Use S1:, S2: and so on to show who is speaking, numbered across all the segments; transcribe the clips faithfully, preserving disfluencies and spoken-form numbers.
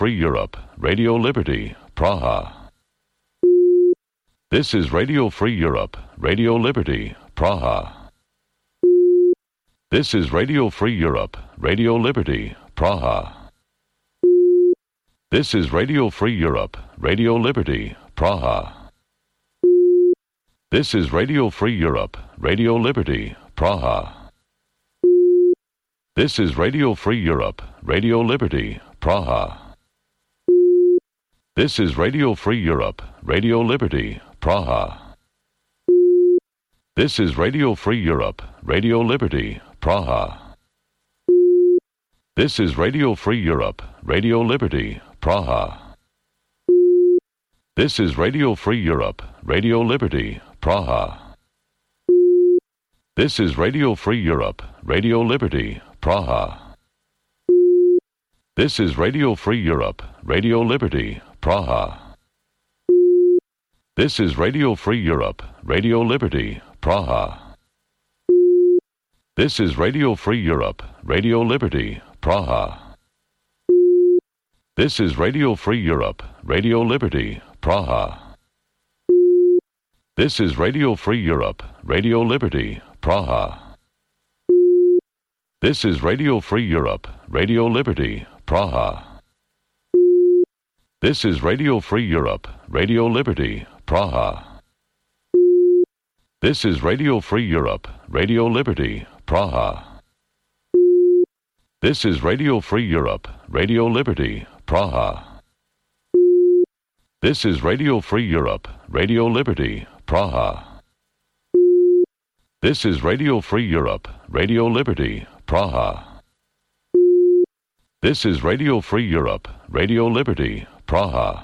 S1: Free Europe, Radio Liberty, Praha. This is Radio Free Europe, Radio Liberty, Praha. This is Radio Free Europe, Radio Liberty, Praha. This is Radio Free Europe, Radio Liberty, Praha. This is Radio Free Europe, Radio Liberty, Praha. This is Radio Free Europe, Radio Liberty, Praha. This is Radio Free Europe, Radio Liberty, Praha. This is Radio Free Europe, Radio Liberty, Praha. This is Radio Free Europe, Radio Liberty, Praha. This is Radio Free Europe, Radio Liberty, Praha. This is Radio Free Europe, Radio Liberty, Praha. This is Radio Free Europe, Radio Liberty, Praha. This is Radio Free Europe, Radio Liberty, Praha. This is Radio Free Europe, Radio Liberty, Praha. This is Radio Free Europe, Radio Liberty, Praha. This is Radio Free Europe, Radio Liberty, Praha. This is Radio Free Europe, Radio Liberty, Praha. This is Radio Free Europe, Radio Liberty, Praha. This is Radio Free Europe, Radio Liberty, Praha. This is Radio Free Europe, Radio Liberty, Praha. This is Radio Free Europe, Radio Liberty, Praha. This is Radio Free Europe, Radio Liberty, Praha. This is Radio Free Europe, Radio Liberty, Praha.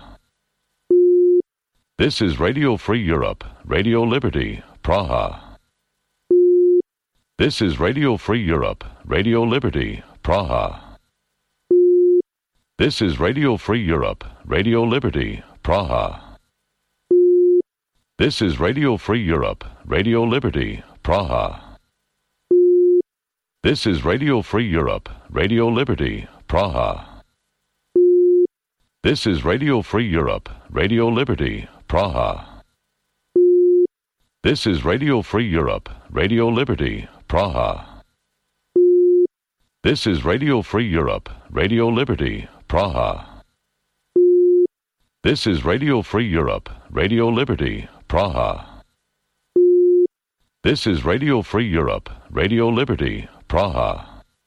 S1: This is Radio Free Europe, Radio Liberty, Praha. This is Radio Free Europe, Radio Liberty, Praha. This is Radio Free Europe, Radio Liberty, Praha. This is Radio Free Europe, Radio Liberty, Praha. This is Radio Free Europe, Radio Liberty, Praha. This is Radio Free Europe, Radio Liberty, Praha. This is Radio Free Europe, Radio Liberty, Praha. This is Radio Free Europe, Radio Liberty, Praha. This is Radio Free Europe, Radio Liberty, Praha. This is Radio Free Europe, Radio Liberty, Praha.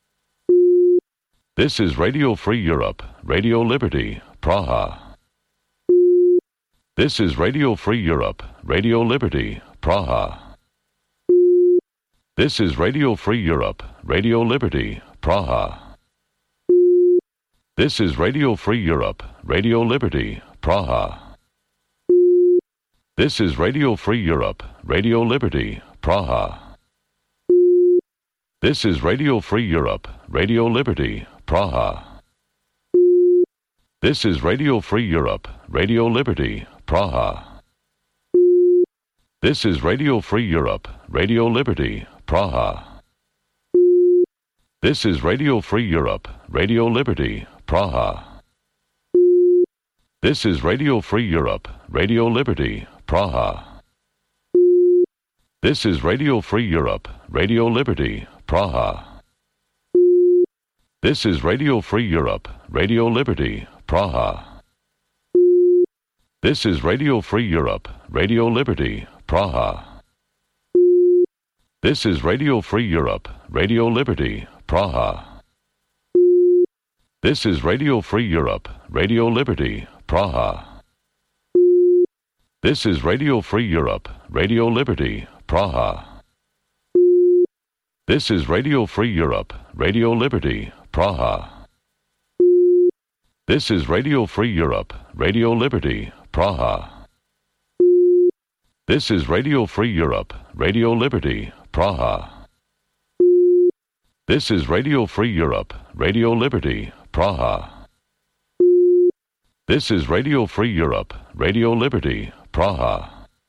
S1: This is Radio Free Europe, Radio Liberty, Praha. This is Radio Free Europe, Radio Liberty, Praha. This is Radio Free Europe, Radio Liberty, Praha. This is Radio Free Europe, Radio Liberty, Praha. This is Radio Free Europe, Radio Liberty, Praha. This is Radio Free Europe, Radio Liberty, Praha. This is Radio Free Europe, Radio Liberty, Praha. This is Radio Free Europe, Radio Liberty, Praha. This is Radio Free Europe, Radio Liberty, Praha. This is Radio Free Europe, Radio Liberty, Praha. This is Radio Free Europe, Radio Liberty, Praha. This is Radio Free Europe, Radio Liberty, Praha. This is Radio Free Europe, Radio Liberty, Praha. This is Radio Free Europe, Radio Liberty, Praha. This is Radio Free Europe, Radio Liberty, Praha. This is Radio Free Europe, Radio Liberty, Praha. This is Radio Free Europe, Radio Liberty, Praha. This is Radio Free Europe, Radio Liberty, Praha. This is Radio Free Europe, Radio Liberty, Praha. This is Radio Free Europe, Radio Liberty, Praha. This is Radio Free Europe, Radio Liberty, Praha.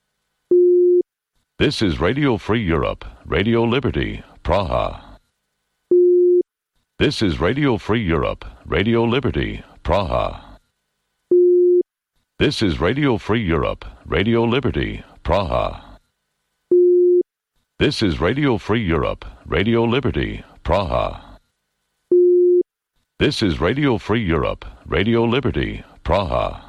S1: This is Radio Free Europe, Radio Liberty, Praha. This is Radio Free Europe, Radio Liberty, Praha. This is Radio Free Europe, Radio Liberty, Praha. This is Radio Free Europe, Radio Liberty, Praha. This is Radio Free Europe, Radio Liberty, Praha.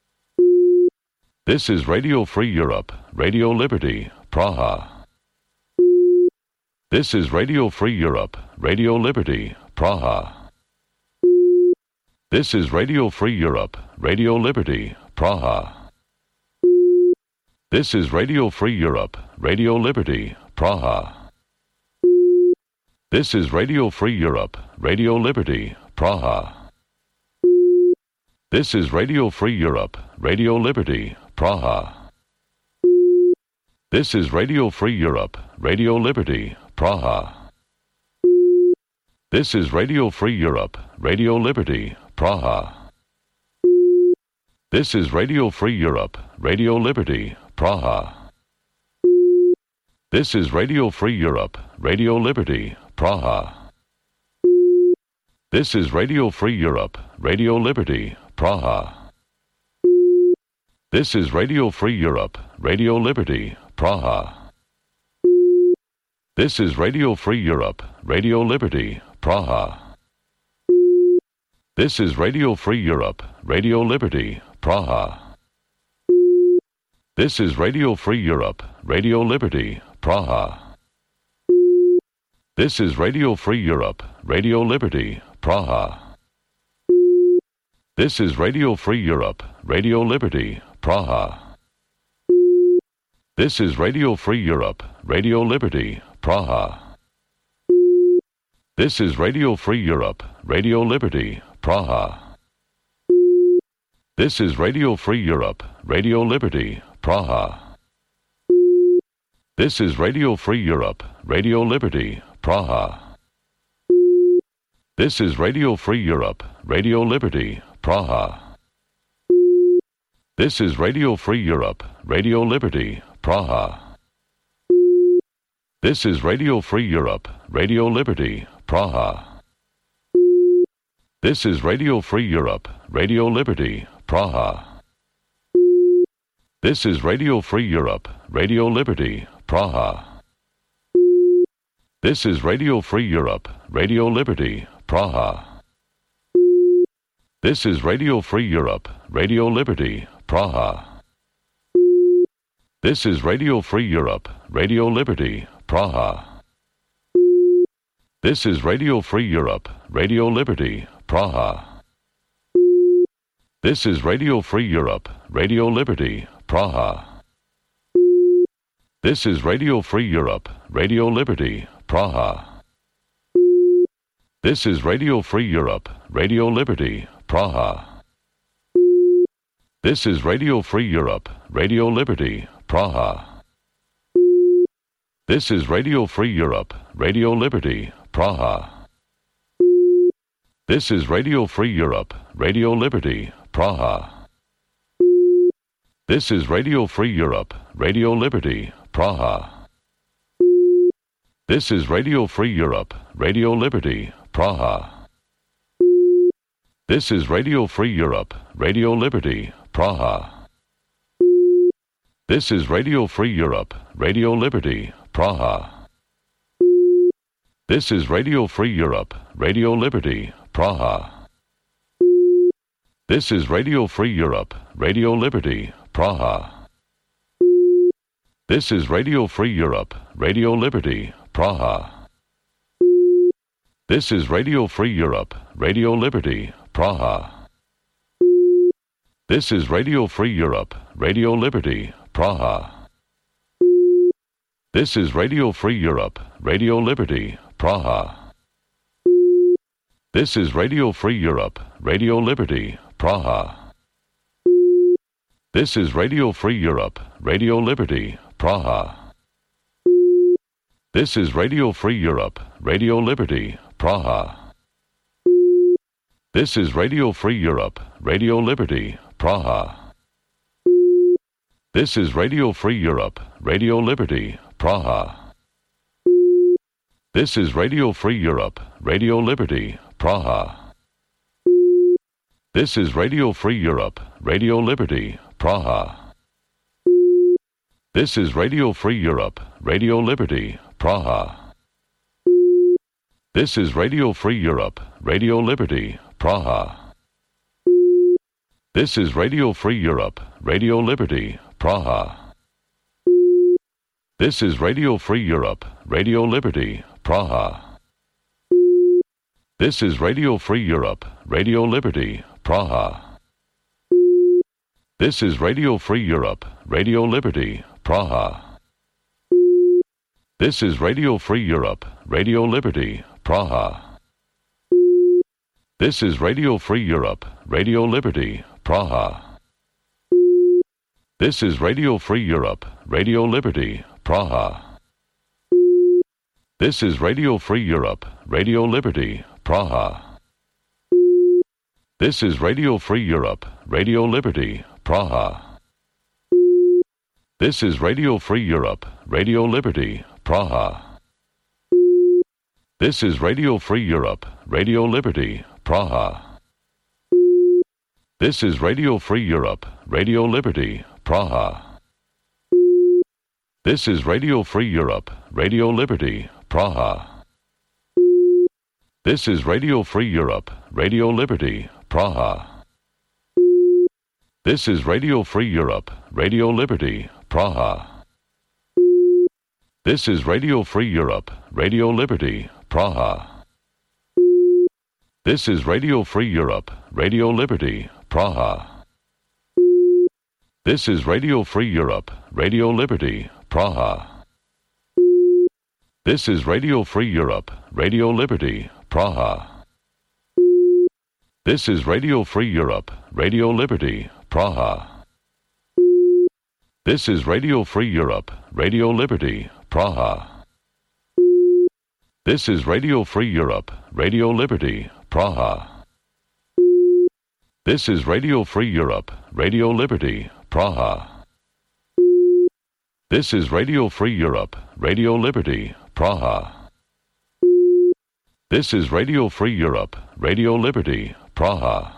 S1: This is Radio Free Europe, Radio Liberty, Praha. This is Radio Free Europe, Radio Liberty, Praha. This is Radio Free Europe, Radio Liberty, Praha. This is Radio Free Europe, Radio Liberty, Praha. This is Radio Free Europe, Radio Liberty, Praha. This is Radio Free Europe, Radio Liberty, Praha. This is Radio Free Europe, Radio Liberty, Praha. This is Radio Free Europe, Radio Liberty, Praha. This is Radio Free Europe, Radio Liberty, Praha. This is Radio Free Europe, Radio Liberty, Praha. This is Radio Free Europe, Radio Liberty, Praha. This is Radio Free Europe, Radio Liberty, Praha. This is Radio Free Europe, Radio Liberty, Praha. This is Radio Free Europe, Radio Liberty, Praha. This is Radio Free Europe, Radio Liberty, Praha. This is Radio Free Europe, Radio Liberty, Praha. This is Radio Free Europe, Radio Liberty, Praha. This is Radio Free Europe, Radio Liberty, Praha. This is Radio Free Europe, Radio Liberty, Praha. This is Radio Free Europe, Radio Liberty, Praha. This is Radio Free Europe, Radio Liberty, Praha. This is Radio Free Europe, Radio Liberty, Praha. This is Radio Free Europe, Radio Liberty, Praha. This is Radio Free Europe, Radio Liberty, Praha. This is Radio Free Europe, Radio Liberty, Praha. This is Radio Free Europe, Radio Liberty, Praha. This is Radio Free Europe, Radio Liberty, Praha. This is Radio Free Europe, Radio Liberty, Praha. This is Radio Free Europe, Radio Liberty, Praha. This is Radio Free Europe, Radio Liberty, Praha. This is Radio Free Europe, Radio Liberty, Praha. This is Radio Free Europe, Radio Liberty, Praha. This is Radio Free Europe, Radio Liberty, Praha. This is Radio Free Europe, Radio Liberty, Praha. This is Radio Free Europe, Radio Liberty, Praha. This is Radio Free Europe, Radio Liberty, Praha. This is Radio Free Europe, Radio Liberty, Praha. This is Radio Free Europe, Radio Liberty, Praha. This is Radio Free Europe, Radio Liberty, Praha. This is Radio Free Europe, Radio Liberty, Praha. This is Radio Free Europe, Radio Liberty, Praha. This is Radio Free Europe, Radio Liberty, Praha. This is Radio Free Europe, Radio Liberty, Praha. This is Radio Free Europe, Radio Liberty, Praha. This is Radio Free Europe, Radio Liberty, Praha. This is Radio Free Europe, Radio Liberty, Praha. This is Radio Free Europe, Radio Liberty, Praha. This is Radio Free Europe, Radio Liberty, Praha. This is Radio Free Europe, Radio Liberty, Praha. This is Radio Free Europe, Radio Liberty, Praha. This is Radio Free Europe, Radio Liberty, Praha. This is Radio Free Europe, Radio Liberty, Praha. This is Radio Free Europe, Radio Liberty, Praha. This is Radio Free Europe, Radio Liberty, Praha. This is Radio Free Europe, Radio Liberty, Praha. This is Radio Free Europe, Radio Liberty, Praha. This is Radio Free Europe, Radio Liberty, Praha. This is Radio Free Europe, Radio Liberty, Praha. This is Radio Free Europe, Radio Liberty, Praha. This is Radio Free Europe, Radio Liberty, Praha. This is Radio Free Europe, Radio Liberty, Praha. This is Radio Free Europe, Radio Liberty, Praha. This is Radio Free Europe, Radio Liberty, Praha. This is Radio Free Europe, Radio Liberty, Praha. This is Radio Free Europe, Radio Liberty, Praha. This is Radio Free Europe, Radio Liberty, Praha. This is Radio Free Europe, Radio Liberty, Praha. This is Radio Free Europe, Radio Liberty, Praha. This is Radio Free Europe, Radio Liberty, Praha. This is Radio Free Europe, Radio Liberty, Praha. This is Radio Free Europe, Radio Liberty, Praha. This is Radio Free Europe, Radio Liberty, Praha. This is Radio Free Europe, Radio Liberty, Praha. This is Radio Free Europe, Radio Liberty, Praha. This is Radio Free Europe, Radio Liberty, Praha. This is Radio Free Europe, Radio Liberty, Praha. This is Radio Free Europe, Radio Liberty, Praha. This is Radio Free Europe, Radio Liberty, Praha. This is Radio Free Europe, Radio Liberty, Praha. This is Radio Free Europe, Radio Liberty, Praha.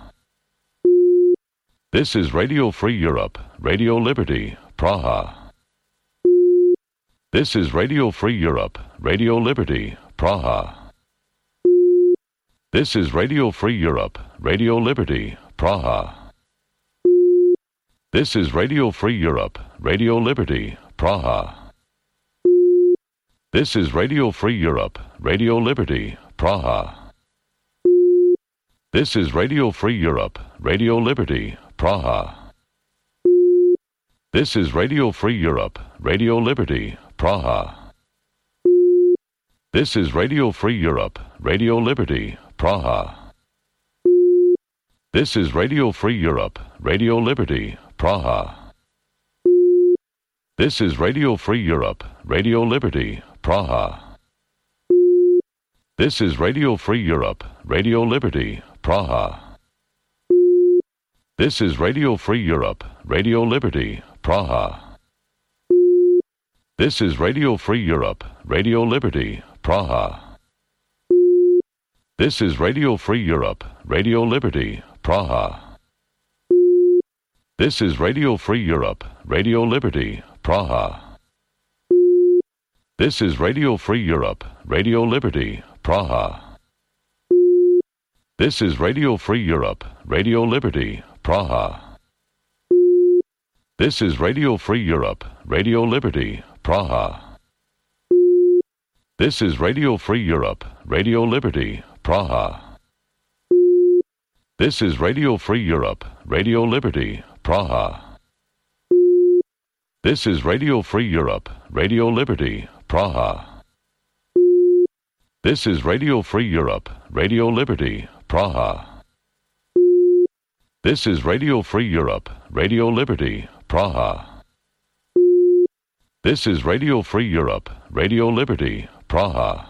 S1: This is Radio Free Europe, Radio Liberty, Praha. This is Radio Free Europe, Radio Liberty, Praha. This is Radio Free Europe, Radio Liberty, Praha. This is Radio Free Europe, Radio Liberty, Praha. This is Radio Free Europe, Radio Liberty, Praha. This is Radio Free Europe, Radio Liberty, Praha. This is Radio Free Europe, Radio Liberty, Praha. This is Radio Free Europe, Radio Liberty, Praha. This is Radio Free Europe, Radio Liberty, Praha. This is Radio Free Europe, Radio Liberty, Praha. This is Radio Free Europe, Radio Liberty, Praha. This is Radio Free Europe, Radio Liberty, Praha. This is Radio Free Europe, Radio Liberty, Praha. This is Radio Free Europe, Radio Liberty, Praha. This is Radio Free Europe, Radio Liberty, Praha. This is Radio Free Europe, Radio Liberty, Praha. This is Radio Free Europe, Radio Liberty, Praha. This is Radio Free Europe, Radio Liberty, Praha. This is Radio Free Europe, Radio Liberty, Praha. This is Radio Free Europe, Radio Liberty, Praha. This is Radio Free Europe, Radio Liberty, Praha. This is Radio Free Europe, Radio Liberty, Praha. This is Radio Free Europe, Radio Liberty, Praha. This is Radio Free Europe, Radio Liberty, Praha.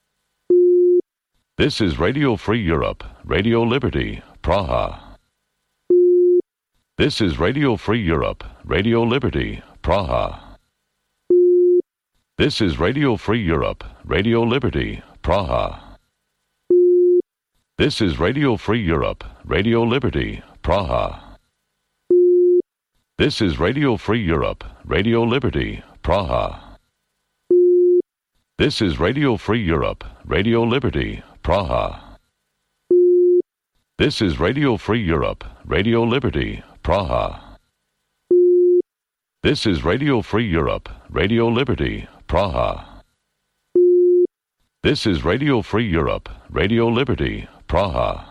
S1: This is Radio Free Europe, Radio Liberty, Praha. This is Radio Free Europe, Radio Liberty, Praha. This is Radio Free Europe, Radio Liberty, Praha. This is Radio Free Europe, Radio Liberty, Praha. This is Radio Free Europe, Radio Liberty, Praha. This is Radio Free Europe, Radio Liberty, Praha. This is Radio Free Europe, Radio Liberty, Praha. This is Radio Free Europe, Radio Liberty, Praha. This is Radio Free Europe, Radio Liberty, Praha.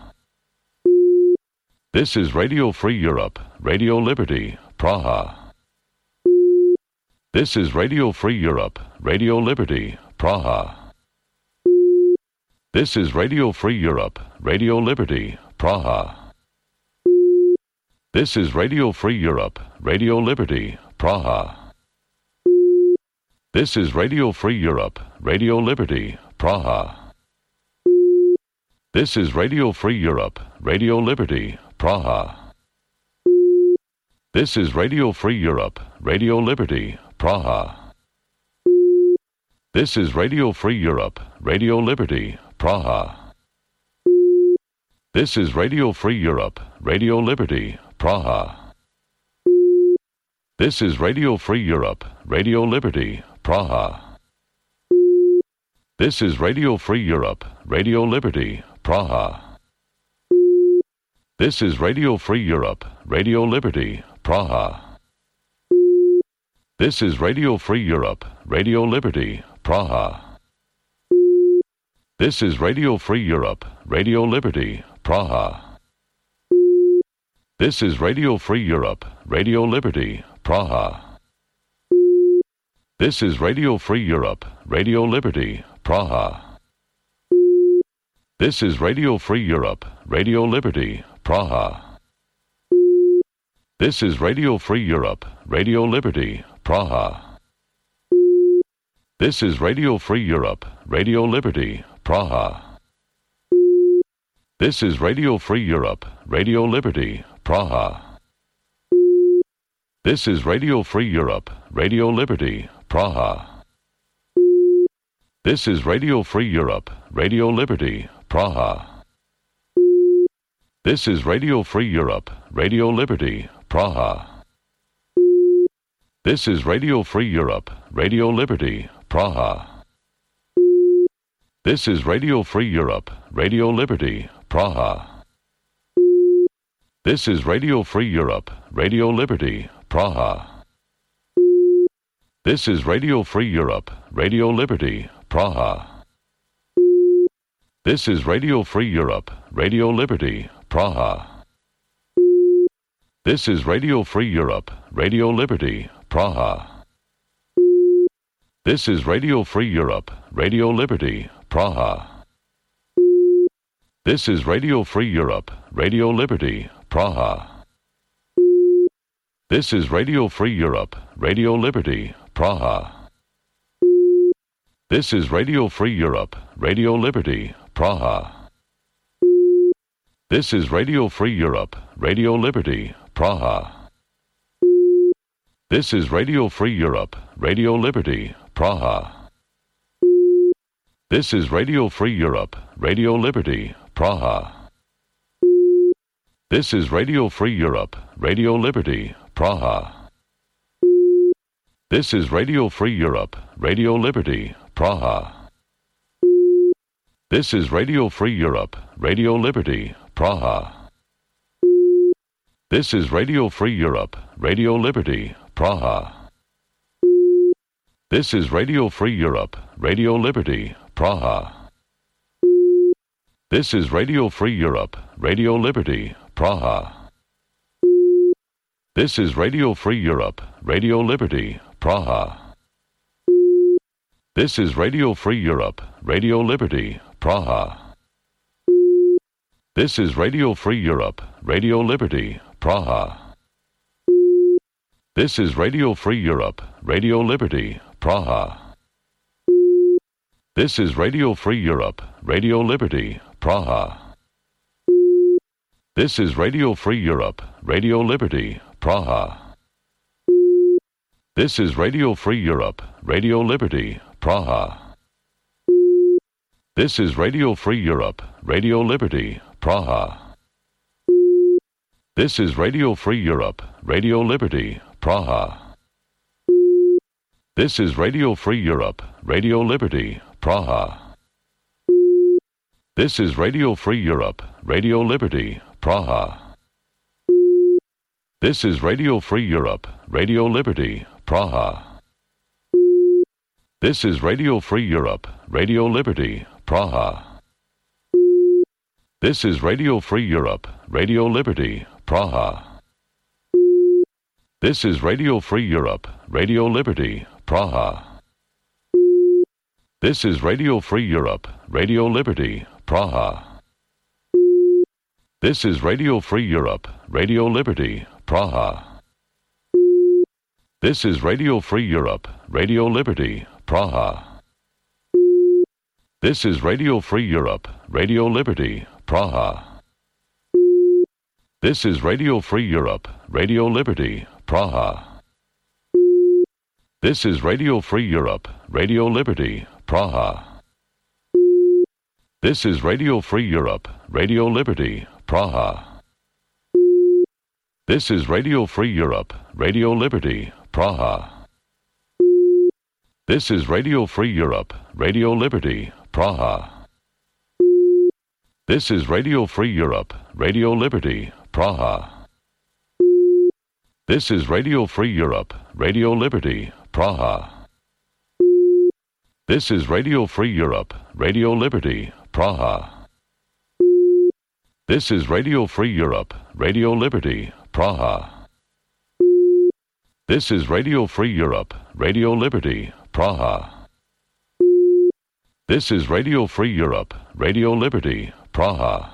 S1: This is Radio Free Europe, Radio Liberty, Praha. This is Radio Free Europe, Radio Liberty, Praha. This is Radio Free Europe, Radio Liberty, Praha. This is Radio Free Europe, Radio Liberty, Praha. This is Radio Free Europe, Radio Liberty, Praha. This is Radio Free Europe, Radio Liberty, Praha. This is Radio Free Europe, Radio Liberty, Praha. This is Radio Free Europe, Radio Liberty, Praha. This is Radio Free Europe, Radio Liberty, Praha. This is Radio Free Europe, Radio Liberty, Praha. This is Radio Free Europe, Radio Liberty, Praha. This is Radio Free Europe, Radio Liberty, Praha. This is Radio Free Europe, Radio Liberty, Praha. This is Radio Free Europe, Radio Liberty, Praha. This is Radio Free Europe, Radio Liberty, Praha. This is Radio Free Europe, Radio Liberty, Praha. This is Radio Free Europe, Radio Liberty, Praha. This is Radio Free Europe, Radio Liberty, Praha. This is Radio Free Europe, Radio Liberty, Praha. This is Radio Free Europe, Radio Liberty, Praha. This is Radio Free Europe, Radio Liberty, Praha. This is Radio Free Europe, Radio Liberty, Praha. This is Radio Free Europe, Radio Liberty, Praha. This is Radio Free Europe, Radio Liberty, Praha. This is Radio Free Europe, Radio Liberty, Praha. This is Radio Free Europe, Radio Liberty, Praha. This is Radio Free Europe, Radio Liberty, Praha. This is Radio Free Europe, Radio Liberty, Praha. This is Radio Free Europe, Radio Liberty, Praha. This is Radio Free Europe, Radio Liberty, Praha. This is Radio Free Europe, Radio Liberty, Praha. This is Radio Free Europe, Radio Liberty, Praha. This is Radio Free Europe, Radio Liberty, Praha. This is Radio Free Europe, Radio Liberty, Praha. This is Radio Free Europe, Radio Liberty, Praha. This is Radio Free Europe, Radio Liberty, Praha. This is Radio Free Europe, Radio Liberty, Praha. This is Radio Free Europe, Radio Liberty, Praha. This is Radio Free Europe, Radio Liberty, Praha. This is Radio Free Europe, Radio Liberty, Praha. This is Radio Free Europe, Radio Liberty, Praha. This is Radio Free Europe, Radio Liberty, Praha. This is Radio Free Europe, Radio Liberty, Praha. This is Radio Free Europe, Radio Liberty, Praha. This is Radio Free Europe, Radio Liberty, Praha. This is Radio Free Europe, Radio Liberty, Praha. This is Radio Free Europe, Radio Liberty, Praha. This is Radio Free Europe, Radio Liberty, Praha. This is Radio Free Europe, Radio Liberty, Praha. This is Radio Free Europe, Radio Liberty, Praha. This is Radio Free Europe, Radio Liberty, Praha. This is Radio Free Europe, Radio Liberty, Praha. This is Radio Free Europe, Radio Liberty, Praha. This is Radio Free Europe, Radio Liberty, Praha. This is Radio Free Europe, Radio Liberty, Praha. This is Radio Free Europe, Radio Liberty, Praha. This is Radio Free Europe, Radio Liberty, Praha. This is Radio Free Europe, Radio Liberty, Praha. This is Radio Free Europe, Radio Liberty, Praha. This is Radio Free Europe, Radio Liberty, Praha. This is Radio Free Europe, Radio Liberty, Praha. This is Radio Free Europe, Radio Liberty, Praha. This is Radio Free Europe, Radio Liberty, Praha. This is Radio Free Europe, Radio Liberty, Praha. This is Radio Free Europe, Radio Liberty, Praha. This is Radio Free Europe, Radio Liberty, Praha. This is Radio Free Europe, Radio Liberty, Praha. This is Radio Free Europe, Radio Liberty, Praha. This is Radio Free Europe, Radio Liberty, Praha. This is Radio Free Europe, Radio Liberty, Praha. This is Radio Free Europe, Radio Liberty, Praha. This is Radio Free Europe, Radio Liberty, Praha.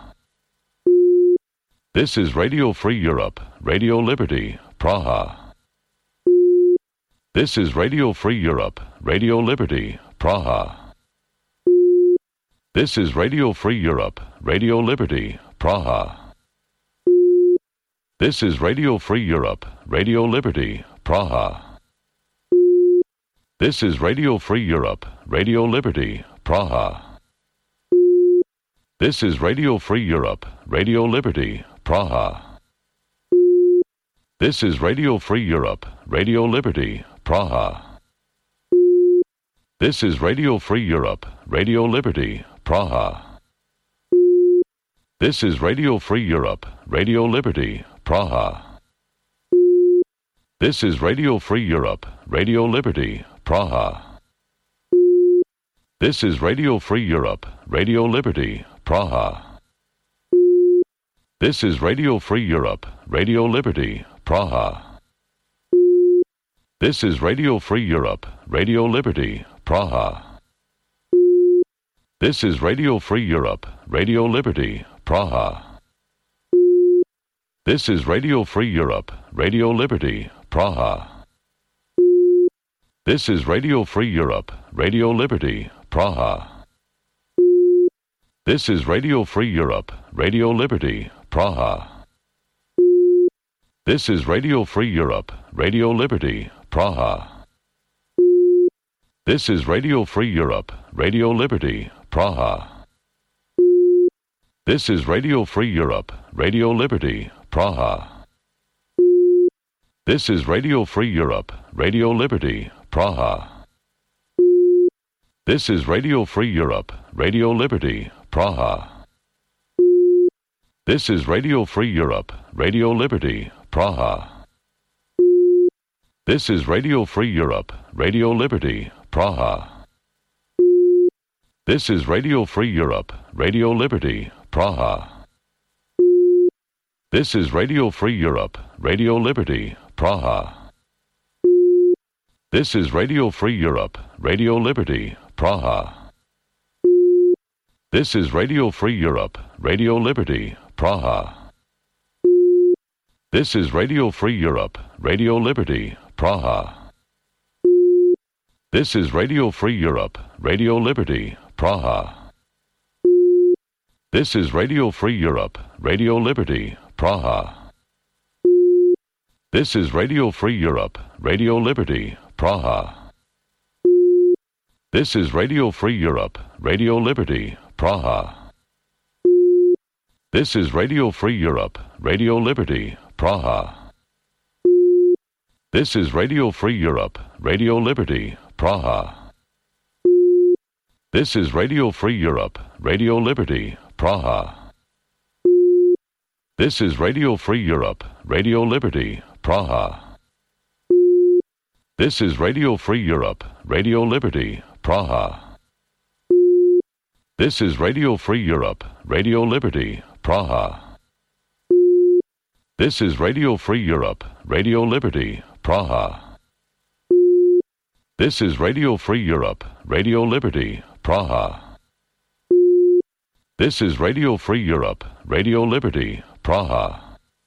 S1: This is Radio Free Europe, Radio Liberty, Praha. This is Radio Free Europe, Radio Liberty, Praha. This is Radio Free Europe, Radio Liberty, Praha. This is Radio Free Europe, Radio Liberty, Praha. This is Radio Free Europe, Radio Liberty, Praha. This is Radio Free Europe, Radio Liberty, Praha. This is Radio Free Europe, Radio Liberty, Praha. This is Radio Free Europe, Radio Liberty, Praha. This is Radio Free Europe, Radio Liberty, Praha. This is Radio Free Europe, Radio Liberty, Praha. This is Radio Free Europe, Radio Liberty, Praha. This is Radio Free Europe, Radio Liberty, Praha. This is Radio Free Europe, Radio Liberty, Praha. This is Radio Free Europe, Radio Liberty, Praha. This is Radio Free Europe, Radio Liberty, Praha. This is Radio Free Europe, Radio Liberty, Praha. This is Radio Free Europe, Radio Liberty, Praha. This is Radio Free Europe, Radio Liberty, Praha. This is Radio Free Europe, Radio Liberty, Praha. This is Radio Free Europe, Radio Liberty, Praha. This is Radio Free Europe, Radio Liberty, Praha. This is Radio Free Europe, Radio Liberty, Praha. This is Radio Free Europe, Radio Liberty, Praha. This is Radio Free Europe, Radio Liberty, Praha. This is Radio Free Europe, Radio Liberty, Praha. This is Radio Free Europe, Radio Liberty, Praha. This is Radio Free Europe, Radio Liberty, Praha. This is Radio Free Europe, Radio Liberty, Praha. This is Radio Free Europe, Radio Liberty, Praha. This is Radio Free Europe, Radio Liberty, Praha. This is Radio Free Europe, Radio Liberty, Praha. This is Radio Free Europe, Radio Liberty, Praha. This is Radio Free Europe, Radio Liberty, Praha. This is Radio Free Europe, Radio Liberty, Praha. This is Radio Free Europe, Radio Liberty, Praha. This is Radio Free Europe, Radio Liberty, Praha. This is Radio Free Europe, Radio Liberty, Praha. This is Radio Free Europe, Radio Liberty, Praha. This is Radio Free Europe, Radio Liberty, Praha. This is Radio Free Europe, Radio Liberty, Praha. This is Radio Free Europe, Radio Liberty, Praha. This is Radio Free Europe, Radio Liberty, Praha.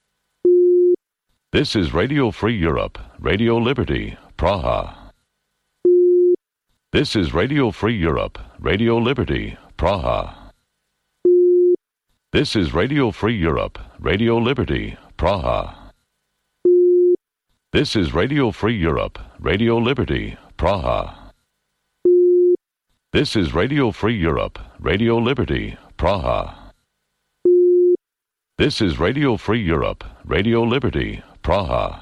S1: This is Radio Free Europe, Radio Liberty, Praha. This is Radio Free Europe, Radio Liberty, Praha. This is Radio Free Europe, Radio Liberty, Praha. This is Radio Free Europe, Radio Liberty, Praha. This is Radio Free Europe, Radio Liberty, Praha. This is Radio Free Europe, Radio Liberty, Praha.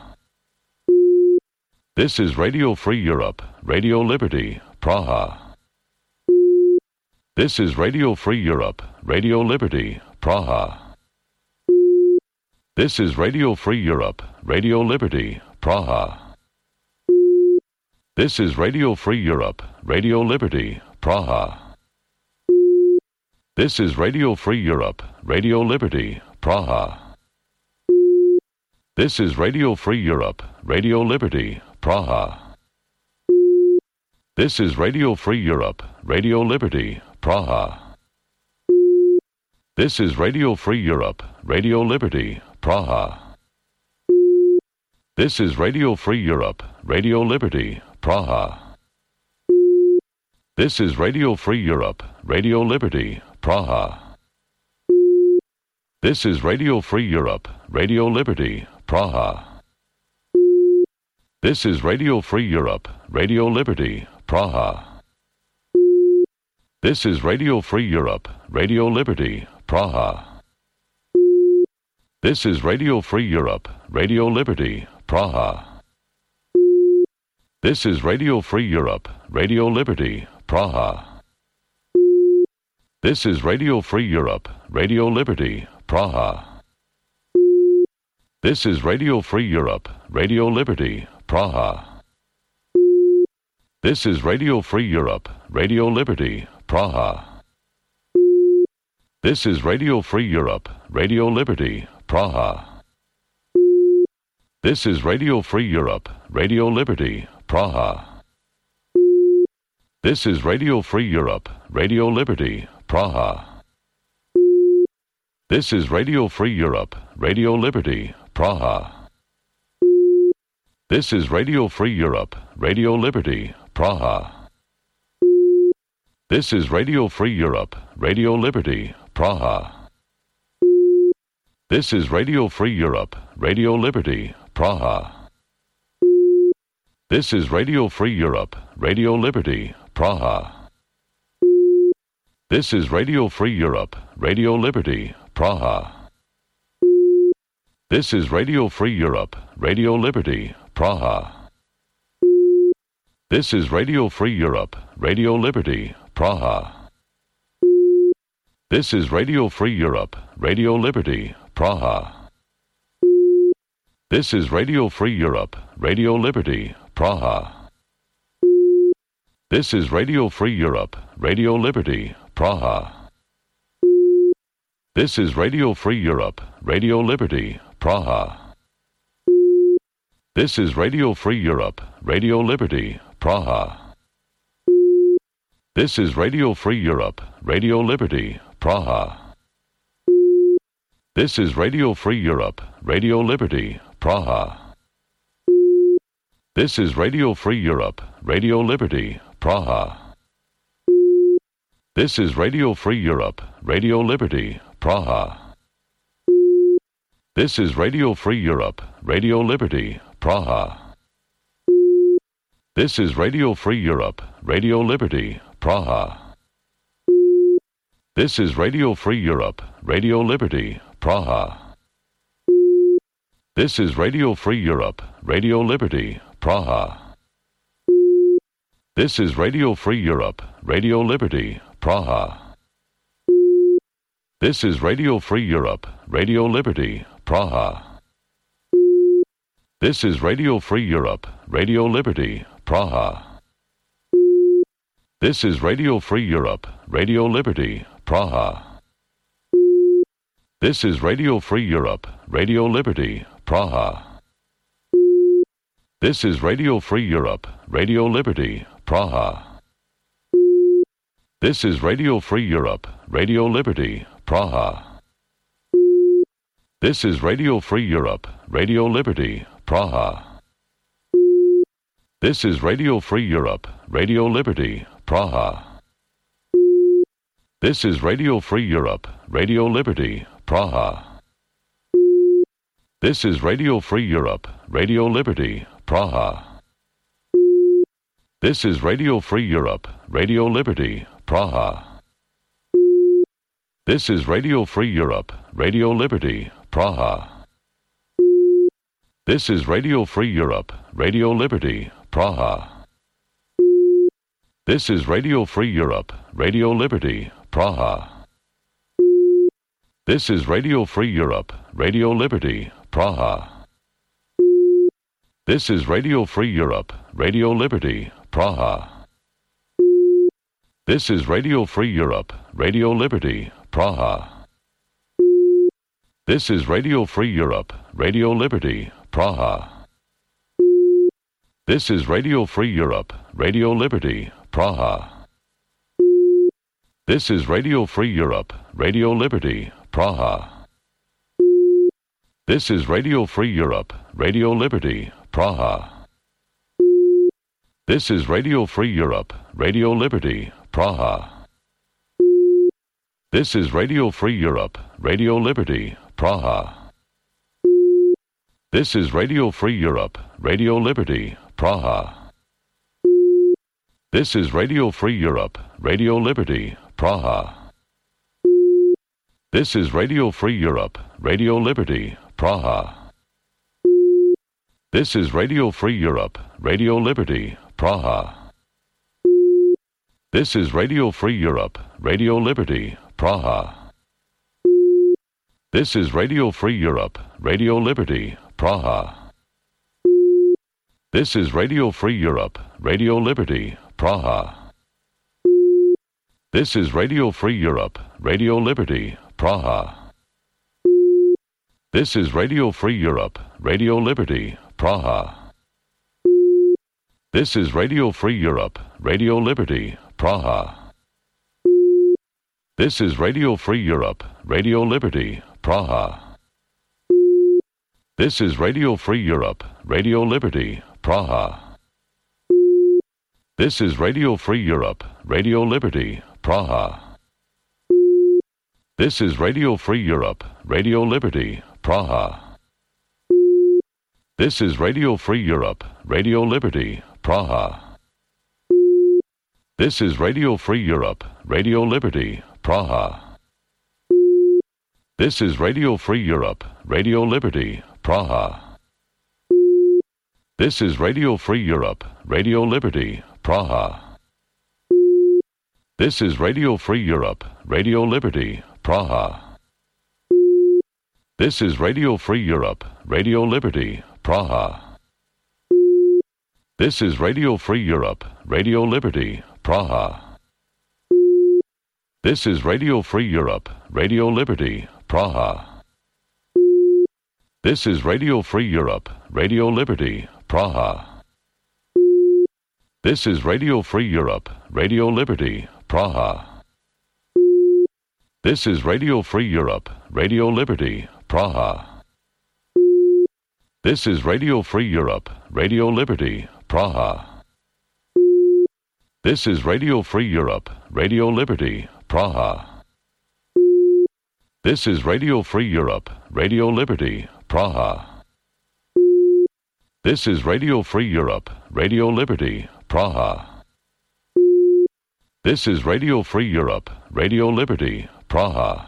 S1: This is Radio Free Europe, Radio Liberty, Praha. This is Radio Free Europe, Radio Liberty, Praha. This is Radio Free Europe, Radio Liberty, Praha. This is Radio Free Europe, Radio Liberty, Praha. This is Radio Free Europe, Radio Liberty, Praha. This is Radio Free Europe, Radio Liberty, Praha. This is Radio Free Europe, Radio Liberty, Praha. This is Radio Free Europe, Radio Liberty, Praha. This is Radio Free Europe, Radio Liberty, Praha. This is Radio Free Europe, Radio Liberty, Praha. This is Radio Free Europe, Radio Liberty, Praha. This is Radio Free Europe, Radio Liberty, Praha. This is Radio Free Europe, Radio Liberty, Praha. This is Radio Free Europe, Radio Liberty, Praha. This is Radio Free Europe, Radio Liberty, Praha. This is Radio Free Europe, Radio Liberty, Praha. This is Radio Free Europe, Radio Liberty, Praha. This is Radio Free Europe, Radio Liberty, Praha. This is Radio Free Europe, Radio Liberty, Praha. This is Radio Free Europe, Radio Liberty, Praha. This is Radio Free Europe, Radio Liberty, Praha. This is Radio Free Europe, Radio Liberty, Praha. This is Radio Free Europe, Radio Liberty, Praha. This is Radio Free Europe, Radio Liberty, Praha. This is Radio Free Europe, Radio Liberty, Praha. This is Radio Free Europe, Radio Liberty, Praha. This is Radio Free Europe, Radio Liberty, Praha. This is Radio Free Europe, Radio Liberty, Praha. This is Radio Free Europe, Radio Liberty, Praha. This is Radio Free Europe, Radio Liberty, Praha. This is Radio Free Europe, Radio Liberty, Praha. This is Radio Free Europe, Radio Liberty, Praha. This is Radio Free Europe, Radio Liberty, Praha. This is Radio Free Europe, Radio Liberty, Praha. This is Radio Free Europe, Radio Liberty, Praha. This is Radio Free Europe, Radio Liberty, Praha. This is Radio Free Europe, Radio Liberty, Praha. This is Radio Free Europe, Radio Liberty, Praha. This is Radio Free Europe, Radio Liberty, Praha. This is Radio Free Europe, Radio Liberty, Praha. This is Radio Free Europe, Radio Liberty, Praha. This is Radio Free Europe, Radio Liberty, Praha. This is Radio Free Europe, Radio Liberty, Praha. This is Radio Free Europe, Radio Liberty, Praha. This is Radio Free Europe, Radio Liberty, Praha. This is Radio Free Europe, Radio Liberty, Praha. This is Radio Free Europe, Radio Liberty, Praha. This is Radio Free Europe, Radio Liberty, Praha. This is Radio Free Europe, Radio Liberty, Praha. This is Radio Free Europe, Radio Liberty, Praha. This is Radio Free Europe, Radio Liberty, Praha. This is Radio Free Europe, Radio Liberty, Praha. This is Radio Free Europe, Radio Liberty, Praha. This is Radio Free Europe, Radio Liberty, Praha. This is Radio Free Europe, Radio Liberty, Praha. This is Radio Free Europe, Radio Liberty, Praha. This is Radio Free Europe, Radio Liberty, Praha. This is Radio Free Europe, Radio Liberty, Praha. This is Radio Free Europe, Radio Liberty, Praha. This is Radio Free Europe, Radio Liberty, Praha. This is Radio Free Europe, Radio Liberty, Praha. This is Radio Free Europe, Radio Liberty, Praha. This is Radio Free Europe, Radio Liberty, Praha. This is Radio Free Europe, Radio Liberty, Praha. This is Radio Free Europe, Radio Liberty, Praha. This is Radio Free Europe, Radio Liberty, Praha. This is Radio Free Europe, Radio Liberty, Praha. This is Radio Free Europe, Radio Liberty, Praha. This is Radio Free Europe, Radio Liberty, Praha. This is Radio Free Europe, Radio Liberty, Praha. This is Radio Free Europe, Radio Liberty, Praha. This is Radio Free Europe, Radio Liberty, Praha. This is Radio Free Europe, Radio Liberty, Praha. This is Radio Free Europe, Radio Liberty, Praha. This is Radio Free Europe, Radio Liberty, Praha. This is Radio Free Europe, Radio Liberty, Praha. This is Radio Free Europe, Radio Liberty, Praha. This is Radio Free Europe, Radio Liberty, Praha. This is Radio Free Europe, Radio Liberty, Praha. This is Radio Free Europe, Radio Liberty, Praha. This is Radio Free Europe, Radio Liberty, Praha. This is Radio Free Europe, Radio Liberty, Praha. This is Radio Free Europe, Radio Liberty, Praha. This is Radio Free Europe, Radio Liberty, Praha. This is Radio Free Europe, Radio Liberty, Praha. This is Radio Free Europe, Radio Liberty, Praha. This is Radio Free Europe, Radio Liberty, Praha. This is Radio Free Europe, Radio Liberty, Praha. This is Radio Free Europe, Radio Liberty, Praha. This is Radio Free Europe, Radio Liberty, Praha. This is Radio Free Europe, Radio Liberty, Praha. This is Radio Free Europe, Radio Liberty, Praha. This is Radio Free Europe, Radio Liberty, Praha. This is Radio Free Europe, Radio Liberty, Praha. This is Radio Free Europe, Radio Liberty, Praha. This is Radio Free Europe, Radio Liberty, Praha.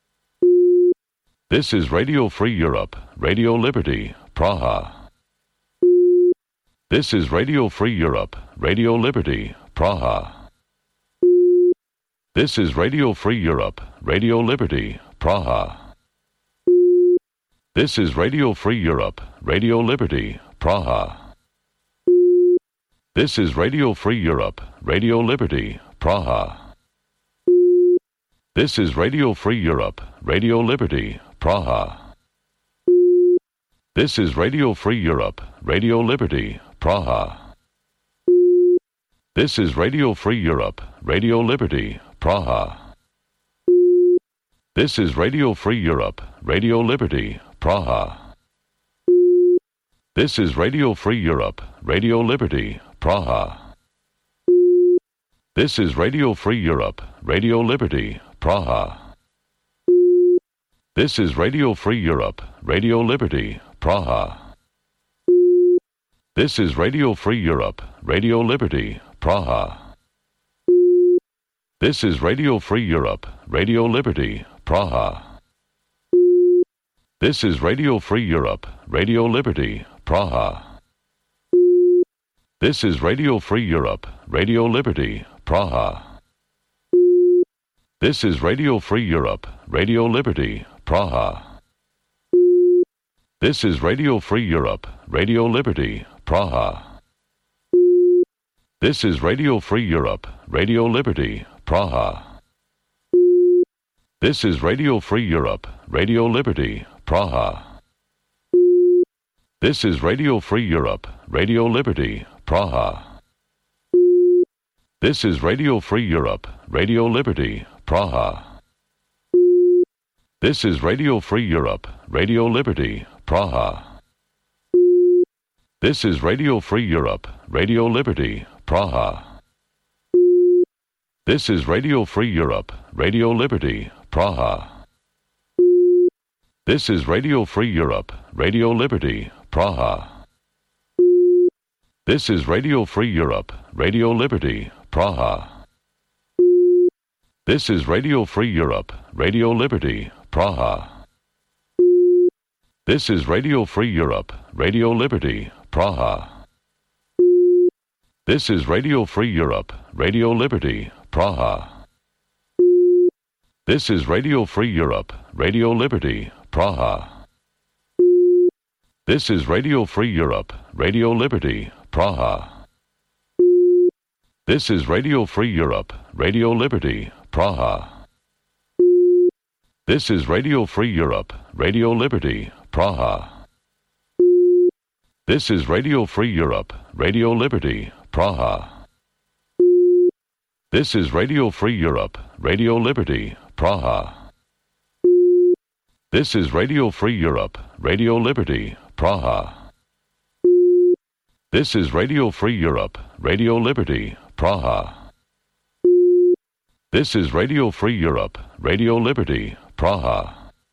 S1: This is Radio Free Europe, Radio Liberty, Praha. This is Radio Free Europe, Radio Liberty, Praha. This is Radio Free Europe, Radio Liberty, Praha. This is Radio Free Europe, Radio Liberty, Praha. This is Radio Free Europe, Radio Liberty, Praha. This is Radio Free Europe, Radio Liberty, Praha. This is Radio Free Europe, Radio Liberty, Praha. This is Radio Free Europe, Radio Liberty, Praha. This is Radio Free Europe, Radio Liberty, Praha. This is Radio Free Europe, Radio Liberty, Praha. This is Radio Free Europe, Radio Liberty, Praha. This is Radio Free Europe, Radio Liberty, Praha. This is Radio Free Europe, Radio Liberty, Praha. This is Radio Free Europe, Radio Liberty, Praha. This is Radio Free Europe, Radio Liberty, Praha. This is Radio Free Europe, Radio Liberty, Praha. This is Radio Free Europe, Radio Liberty, Praha. This is Radio Free Europe, Radio Liberty, Praha. This is Radio Free Europe, Radio Liberty, Praha. This is Radio Free Europe, Radio Liberty, Praha. This is Radio Free Europe, Radio Liberty, Praha. This is Radio Free Europe, Radio Liberty, Praha. This is Radio Free Europe, Radio Liberty, Praha. This is Radio Free Europe, Radio Liberty, Praha. This is Radio Free Europe, Radio Liberty, Praha. This is Radio Free Europe, Radio Liberty, Praha. This is Radio Free Europe, Radio Liberty, Praha. This is Radio Free Europe, Radio Liberty, Praha. This is Radio Free Europe, Radio Liberty, Praha. This is Radio Free Europe, Radio Liberty, Praha. This is Radio Free Europe, Radio Liberty, Praha. This is Radio Free Europe, Radio Liberty, Praha. This is Radio Free Europe, Radio Liberty, Praha. This is Radio Free Europe, Radio Liberty, Praha. This is Radio Free Europe, Radio Liberty, Praha. This is Radio Free Europe, Radio Liberty, Praha. This is Radio Free Europe, Radio Liberty, Praha. This is Radio Free Europe, Radio Liberty, Praha. This is Radio Free Europe, Radio Liberty, Praha.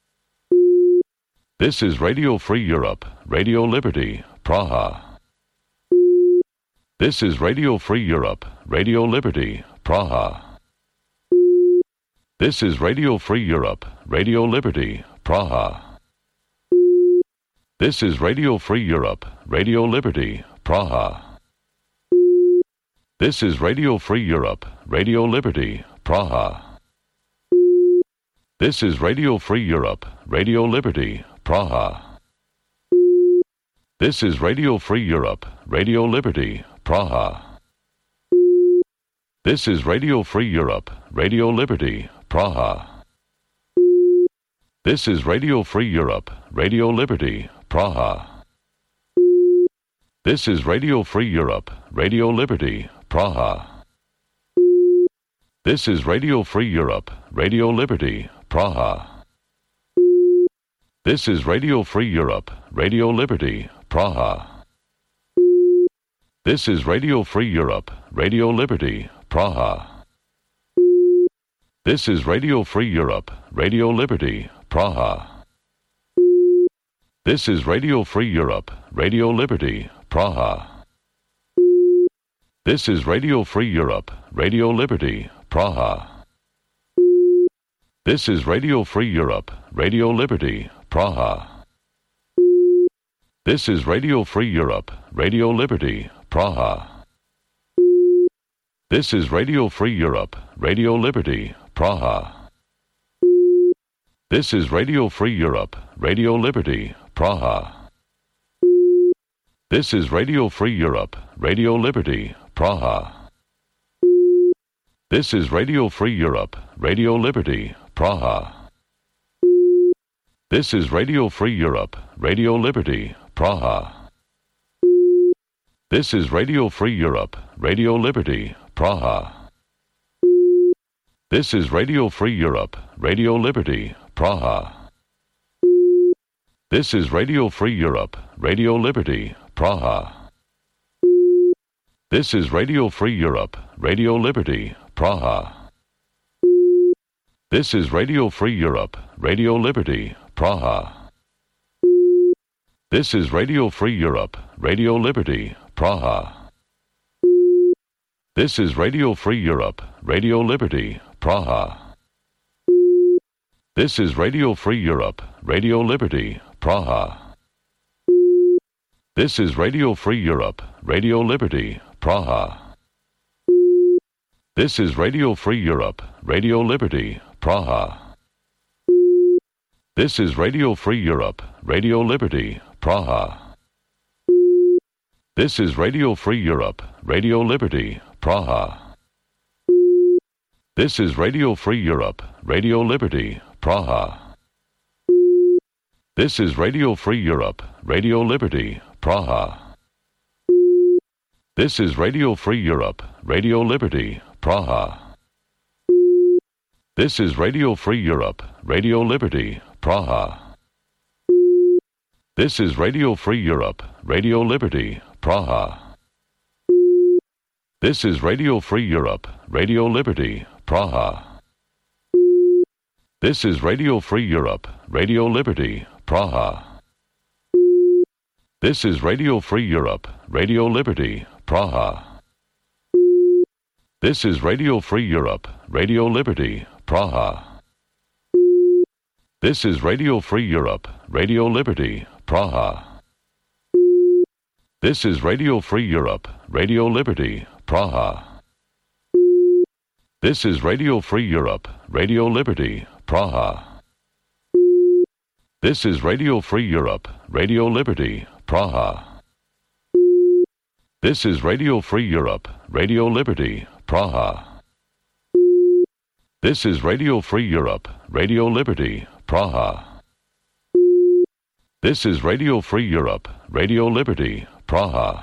S1: This is Radio Free Europe, Radio Liberty, Praha. This is Radio Free Europe, Radio Liberty, Praha. This is Radio Free Europe, Radio Liberty, Praha. This is Radio Free Europe, Radio Liberty, Praha. This is Radio Free Europe, Radio Liberty, Praha. This is Radio Free Europe, Radio Liberty, Praha. This is Radio Free Europe, Radio Liberty, Praha. This is Radio Free Europe, Radio Liberty, Praha. This is Radio Free Europe, Radio Liberty, Praha. This is Radio Free Europe, Radio Liberty, Praha. This is Radio Free Europe, Radio Liberty, Praha. This is Radio Free Europe, Radio Liberty, Praha. This is Radio Free Europe, Radio Liberty, Praha. This is Radio Free Europe, Radio Liberty, Praha. This is Radio Free Europe, Radio Liberty, Praha. This is Radio Free Europe, Radio Liberty, Praha. This is Radio Free Europe, Radio Liberty, Praha. This is Radio Free Europe, Radio Liberty, Praha. This is Radio Free Europe, Radio Liberty, Praha. This is Radio Free Europe, Radio Liberty, Praha. This is Radio Free Europe, Radio Liberty, Praha. This is Radio Free Europe, Radio Liberty, Praha. This is Radio Free Europe, Radio Liberty, Praha. This is Radio Free Europe, Radio Liberty, Praha. This is Radio Free Europe, Radio Liberty, Praha. This is Radio Free Europe, Radio Liberty, Praha. This is Radio Free Europe, Radio Liberty, Praha. This is Radio Free Europe, Radio Liberty, Praha. This is Radio Free Europe, Radio Liberty, Praha. This is Radio Free Europe, Radio Liberty, Praha. This is Radio Free Europe, Radio Liberty, Praha. This is Radio Free Europe, Radio Liberty, Praha. This is Radio Free Europe, Radio Liberty, Praha. This is Radio Free Europe, Radio Liberty, Praha. This is Radio Free Europe, Radio Liberty, Praha. This is Radio Free Europe, Radio Liberty, Praha. This is Radio Free Europe, Radio Liberty, Praha. This is Radio Free Europe, Radio Liberty, Praha. This is Radio Free Europe, Radio Liberty, Praha. This is Radio Free Europe, Radio Liberty, Praha. This is Radio Free Europe, Radio Liberty, Praha. This is Radio Free Europe, Radio Liberty, Praha. This is Radio Free Europe, Radio Liberty, Praha. This is Radio Free Europe, Radio Liberty, Praha. This is Radio Free Europe, Radio Liberty, Praha. This is Radio Free Europe, Radio Liberty, Praha. This is Radio Free Europe, Radio Liberty, Praha. This is Radio Free Europe, Radio Liberty, Praha. This is Radio Free Europe, Radio Liberty, Praha. This is Radio Free Europe, Radio Liberty, Praha. This is Radio Free Europe, Radio Liberty, Praha.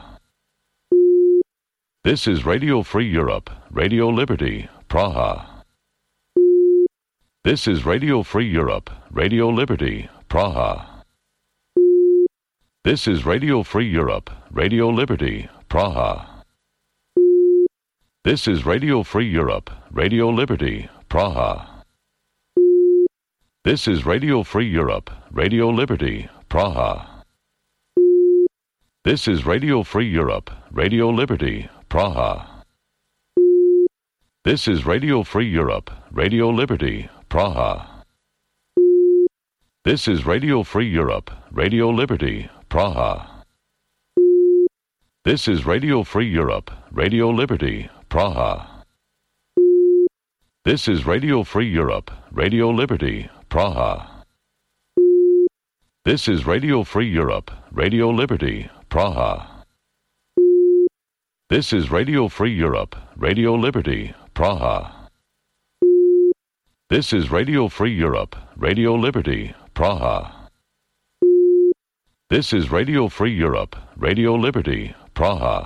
S1: This is Radio Free Europe, Radio Liberty, Praha. This is Radio Free Europe, Radio Liberty, Praha. This is Radio Free Europe, Radio Liberty, Praha. This is Radio Free Europe, Radio Liberty, Praha. This is Radio Free Europe, Radio Liberty, Praha. This is Radio Free Europe, Radio Liberty, Praha. This is Radio Free Europe, Radio Liberty, Praha. This is Radio Free Europe, Radio Liberty, Praha. This is Radio Free Europe, Radio Liberty, Praha. This is Radio Free Europe, Radio Liberty, Praha. This is Radio Free Europe, Radio Liberty, Praha. This is Radio Free Europe, Radio Liberty, Praha. This is Radio Free Europe, Radio Liberty, Praha. This is Radio Free Europe, Radio Liberty, Praha.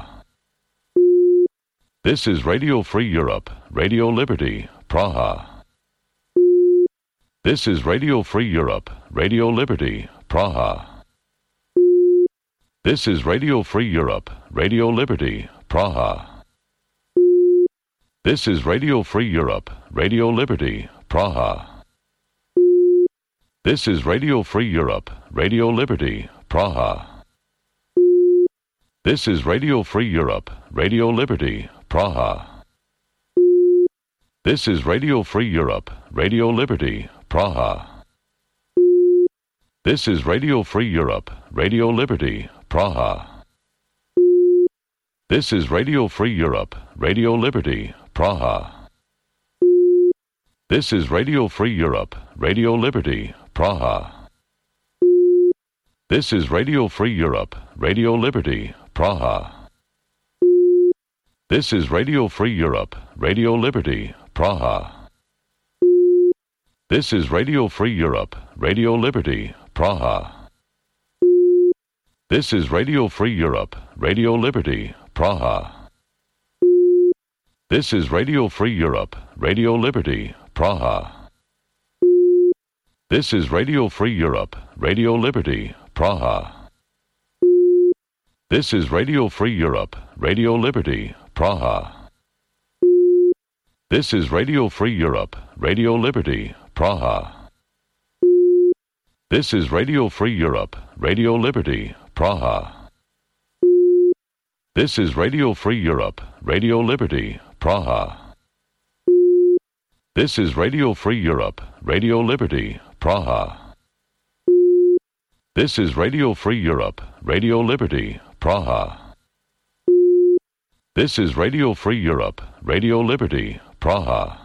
S1: This is Radio Free Europe, Radio Liberty, Praha. This is Radio Free Europe, Radio Liberty, Praha. This is Radio Free Europe, Radio Liberty, Praha. This is Radio Free Europe, Radio Liberty, Praha. This is Radio Free Europe, Radio Liberty, Praha. This is Radio Free Europe, Radio Liberty, Praha. This is Radio Free Europe, Radio Liberty, Praha. This is Radio Free Europe, Radio Liberty, Praha. This is Radio Free Europe, Radio Liberty, Praha. This is Radio Free Europe, Radio Liberty, Praha. This is Radio Free Europe, Radio Liberty, Praha. This is Radio Free Europe, Radio Liberty, Praha. This is Radio Free Europe, Radio Liberty, Praha. This is Radio Free Europe, Radio Liberty, Praha. This is Radio Free Europe, Radio Liberty, Praha. This is Radio Free Europe, Radio Liberty, Praha. This is Radio Free Europe, Radio Liberty, Praha. This is Radio Free Europe, Radio Liberty, Praha. This is Radio Free Europe, Radio Liberty, Praha. This is Radio Free Europe, Radio Liberty, Praha. This is Radio Free Europe, Radio Liberty, Praha. This is Radio Free Europe, Radio Liberty, Praha. This is Radio Free Europe, Radio Liberty, Praha.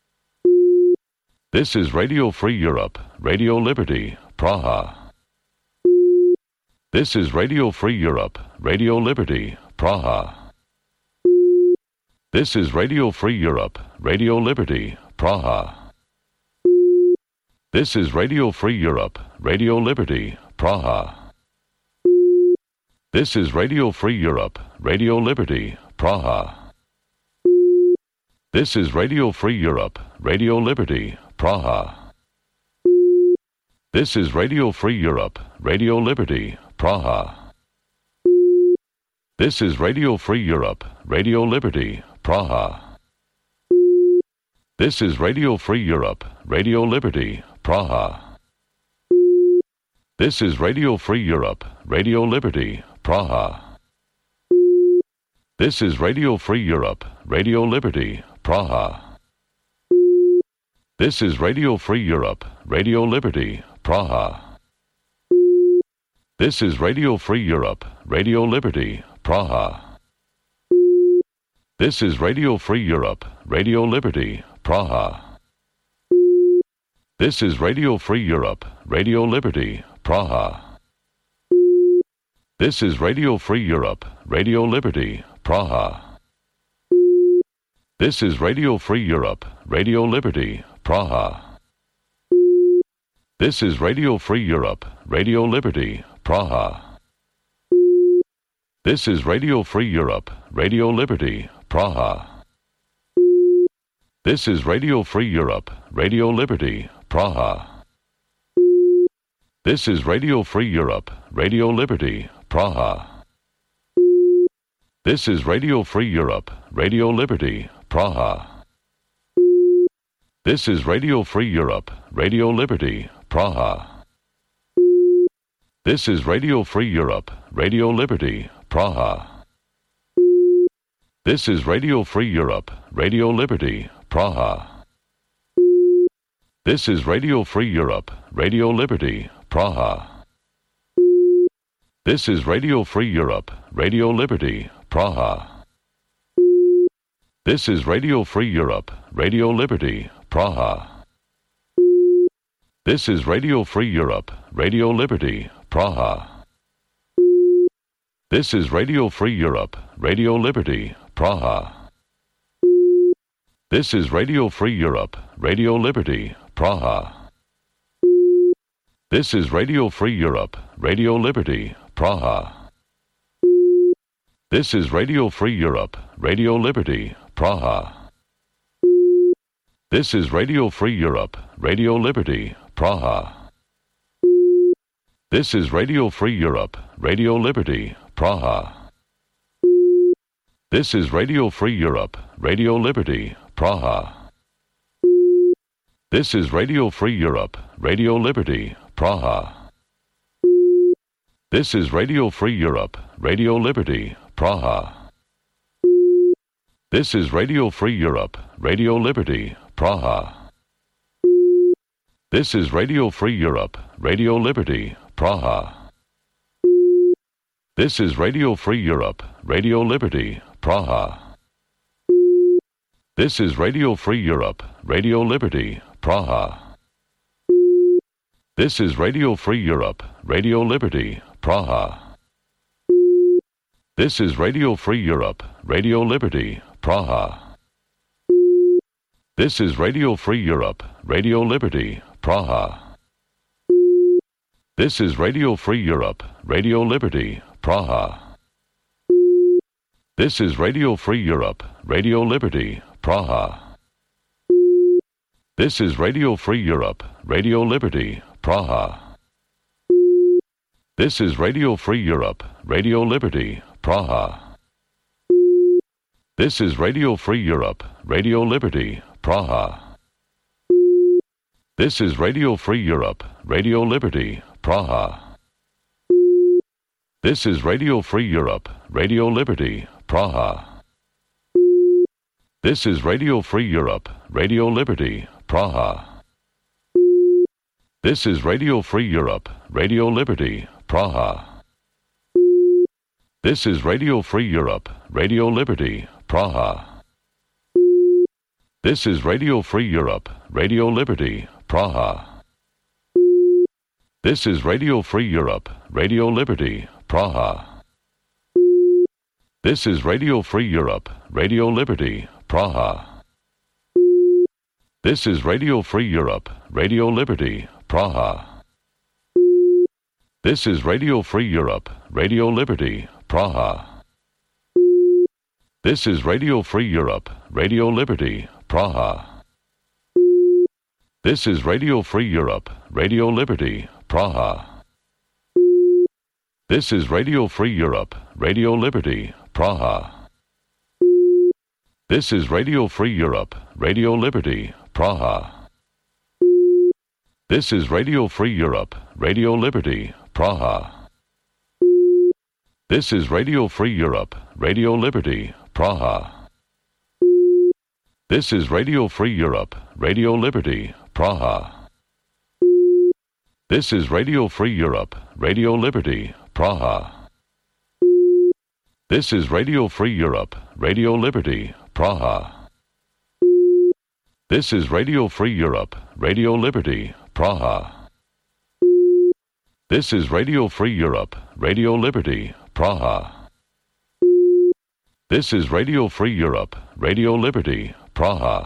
S1: This is Radio Free Europe, Radio Liberty, Praha. This is Radio Free Europe, Radio Liberty, Praha. This is Radio Free Europe, Radio Liberty, Praha. This is Radio Free Europe, Radio Liberty, Praha. This is Radio Free Europe, Radio Liberty, Praha. This is Radio Free Europe, Radio Liberty, Praha. This is Radio Free Europe, Radio Liberty, Praha. This is Radio Free Europe, Radio Liberty, Praha. This is Radio Free Europe, Radio Liberty, Praha. This is Radio Free Europe, Radio Liberty, Praha. This is Radio Free Europe, Radio Liberty, Praha. This is Radio Free Europe, Radio Liberty, Praha. This is Radio Free Europe, Radio Liberty, Praha. This is Radio Free Europe, Radio Liberty, Praha. This is Radio Free Europe, Radio Liberty, Praha. This is Radio Free Europe, Radio Liberty, Praha. This is Radio Free Europe, Radio Liberty, Praha. This is Radio Free Europe, Radio Liberty, Praha. This is Radio Free Europe, Radio Liberty, Praha. This is Radio Free Europe, Radio Liberty, Praha. This is Radio Free Europe, Radio Liberty, Praha. This is Radio Free Europe, Radio Liberty, Praha. This is Radio Free Europe, Radio Liberty, Praha. This is Radio Free Europe, Radio Liberty, Praha. This is Radio Free Europe, Radio Liberty, Praha. This is Radio Free Europe, Radio Liberty, Praha. This is Radio Free Europe, Radio Liberty, Praha. This is Radio Free Europe, Radio Liberty, Praha. This is Radio Free Europe, Radio Liberty, Praha. This is Radio Free Europe, Radio Liberty, Praha. This is Radio Free Europe, Radio Liberty, Praha. This is Radio Free Europe, Radio Liberty, Praha. This is Radio Free Europe, Radio Liberty, Praha. This is Radio Free Europe, Radio Liberty, Praha. This is Radio Free Europe, Radio Liberty, Praha. This is Radio Free Europe, Radio Liberty, Praha. This is Radio Free Europe, Radio Liberty, Praha. This is Radio Free Europe, Radio Liberty, Praha. This is Radio Free Europe, Radio Liberty, Praha. This is Radio Free Europe, Radio Liberty, Praha. This is Radio Free Europe, Radio Liberty, Praha. This is Radio Free Europe, Radio Liberty, Praha. This is Radio Free Europe, Radio Liberty, Praha. This is Radio Free Europe, Radio Liberty, Praha. This is Radio Free Europe, Radio Liberty, Praha. This is Radio Free Europe, Radio Liberty, Praha. This is Radio Free Europe, Radio Liberty, Praha. This is Radio Free Europe, Radio Liberty, Praha. This is Radio Free Europe, Radio Liberty, Praha. This is Radio Free Europe, Radio Liberty, Praha. This is Radio Free Europe, Radio Liberty, Praha. This is Radio Free Europe, Radio Liberty, Praha. This is Radio Free Europe, Radio Liberty, Praha. This is Radio Free Europe, Radio Liberty, Praha. This is Radio Free Europe, Radio Liberty, Praha. This is Radio Free Europe, Radio Liberty, Praha. This is Radio Free Europe, Radio Liberty, Praha. This is Radio Free Europe, Radio Liberty, Praha. This is Radio Free Europe, Radio Liberty, Praha. This is Radio Free Europe, Radio Liberty, Praha. This is Radio Free Europe, Radio Liberty, Praha. This is Radio Free Europe, Radio Liberty, Praha. This is Radio Free Europe, Radio Liberty, Praha. This is Radio Free Europe, Radio Liberty, Praha. This is Radio Free Europe, Radio Liberty, Praha. This is Radio Free Europe, Radio Liberty, Praha. This is Radio Free Europe, Radio Liberty, Praha. This is Radio Free Europe, Radio Liberty, Praha. This is Radio Free Europe, Radio Liberty, Praha. This is Radio Free Europe, Radio Liberty, Praha. This is Radio Free Europe, Radio Liberty, Praha. This is Radio Free Europe, Radio Liberty, Praha.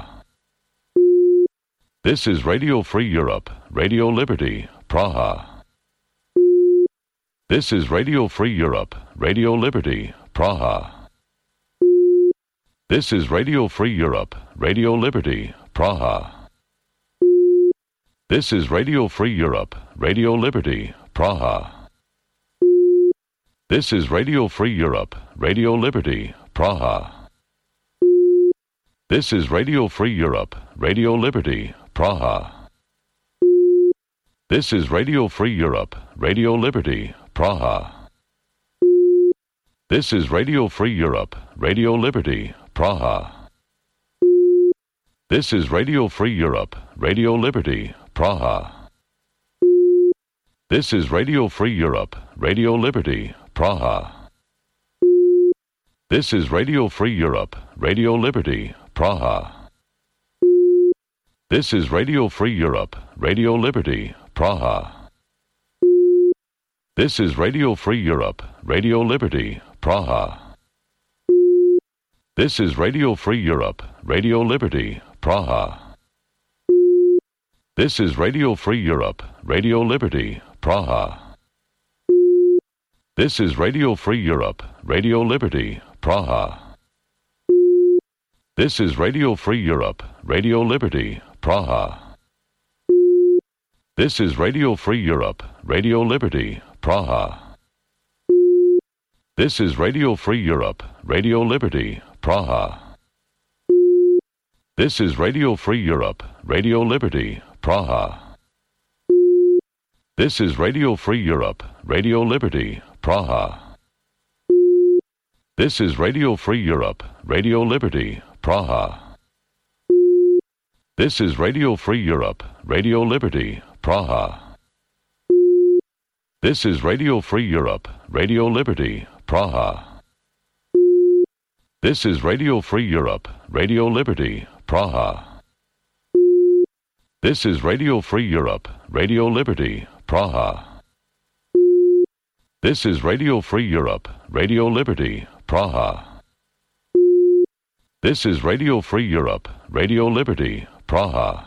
S1: This is Radio Free Europe, Radio Liberty, Praha. This is Radio Free Europe, Radio Liberty, Praha. This is Radio Free Europe, Radio Liberty, Praha. This is Radio Free Europe, Radio Liberty, Praha. This is Radio Free Europe, Radio Liberty, Praha. This is Radio Free Europe, Radio Liberty, Praha. This is Radio Free Europe, Radio Liberty, Praha. This is Radio Free Europe, Radio Liberty, Praha. This is Radio Free Europe, Radio Liberty, Praha. This is Radio Free Europe, Radio Liberty, Praha. This is Radio Free Europe, Radio Liberty, Praha. This is Radio Free Europe, Radio Liberty, Praha. This is Radio Free Europe, Radio Liberty, Praha. This is Radio Free Europe, Radio Liberty, Praha. This is Radio Free Europe, Radio Liberty, Praha. This is Radio Free Europe, Radio Liberty, Praha. This is Radio Free Europe, Radio Liberty, Praha. This is Radio Free Europe, Radio Liberty, Praha. This is Radio Free Europe, Radio Liberty, Praha. This is Radio Free Europe, Radio Liberty, Praha. This is Radio Free Europe, Radio Liberty, Praha. This is Radio Free Europe, Radio Liberty, Praha. This is Radio Free Europe, Radio Liberty, Praha. This is Radio Free Europe, Radio Liberty, Praha. This is Radio Free Europe, Radio Liberty, Praha. This is Radio Free Europe, Radio Liberty, Praha. This is Radio Free Europe, Radio Liberty, Praha. This is Radio Free Europe, Radio Liberty, Praha.